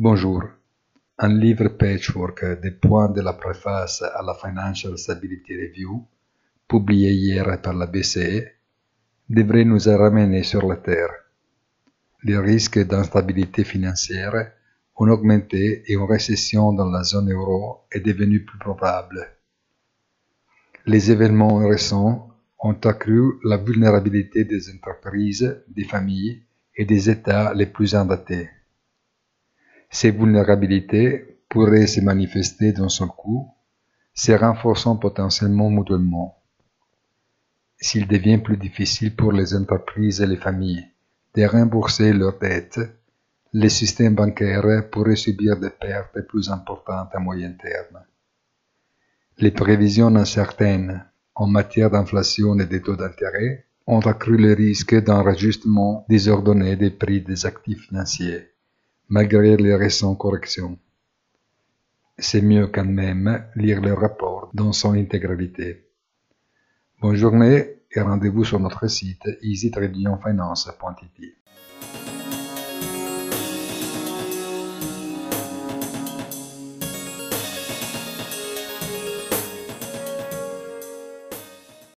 Bonjour. Un livre patchwork des points de la préface à la Financial Stability Review, publié hier par la BCE, devrait nous ramener sur la Terre. Les risques d'instabilité financière ont augmenté et une récession dans la zone euro est devenue plus probable. Les événements récents ont accru la vulnérabilité des entreprises, des familles et des États les plus endettés. Ces vulnérabilités pourraient se manifester d'un seul coup, se renforçant potentiellement mutuellement. S'il devient plus difficile pour les entreprises et les familles de rembourser leurs dettes, les systèmes bancaires pourraient subir des pertes plus importantes à moyen terme. Les prévisions incertaines en matière d'inflation et des taux d'intérêt ont accru le risque d'un rajustement désordonné des prix des actifs financiers, malgré les récentes corrections. C'est mieux quand même lire le rapport dans son intégralité. Bonne journée et rendez-vous sur notre site easy-finance.it.